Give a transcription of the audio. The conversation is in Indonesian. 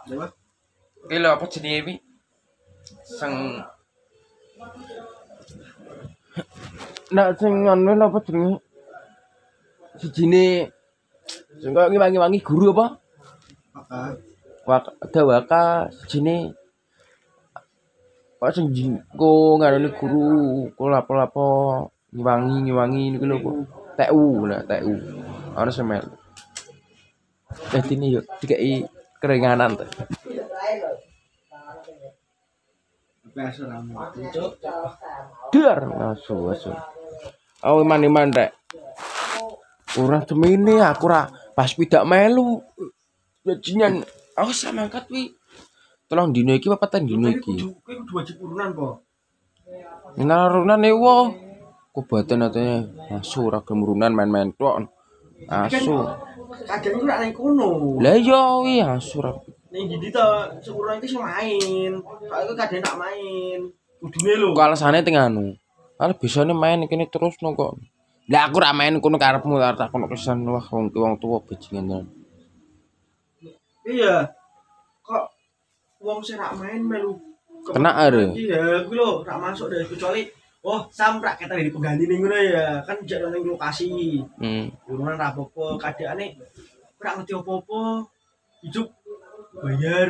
Apa? Ki lho apa jenenge iki? Sing sing anu lho apa jenenge? Sijine sing kok ngiwangi guru apa? Ada waka sijine kok sing jingko ngarani guru kok lapo-lapo ngiwangi niku lho kok. TU lah TU. Ana semel. Dadi ini yo dikeki keringanan to. Dar asu. Oh iman rek. Ora semene aku ora pas pidak melu. Bajingan aku sama angkat wi. Tolong dino iki apa patan dino iki? Kowe kudu wajib urunan po. Narunan ewo. Kubatan atene asu ora gemurunan main-main tok. Asu. Kadang iku rak nang kono. Lah iya wi asu ora. Ning ndi to seurunan iki sing main. Soale kadang tak main. Kudune lho. Kok alasane teng anu. Are bisane main kene terus no kok. Lah aku ra main kono karepmu tak kono kesan wah wong tuwa bajingan. Iya. Kok wong sing rak main melu Kena are. Iya, kuwi lho rak masuk deh kecuali samprak kata dari pengganti ning ngono ya. Kan jek nang lokasi. Urunan ra apa-apa, kadekane ora ngerti apa-apa. Hidup bayar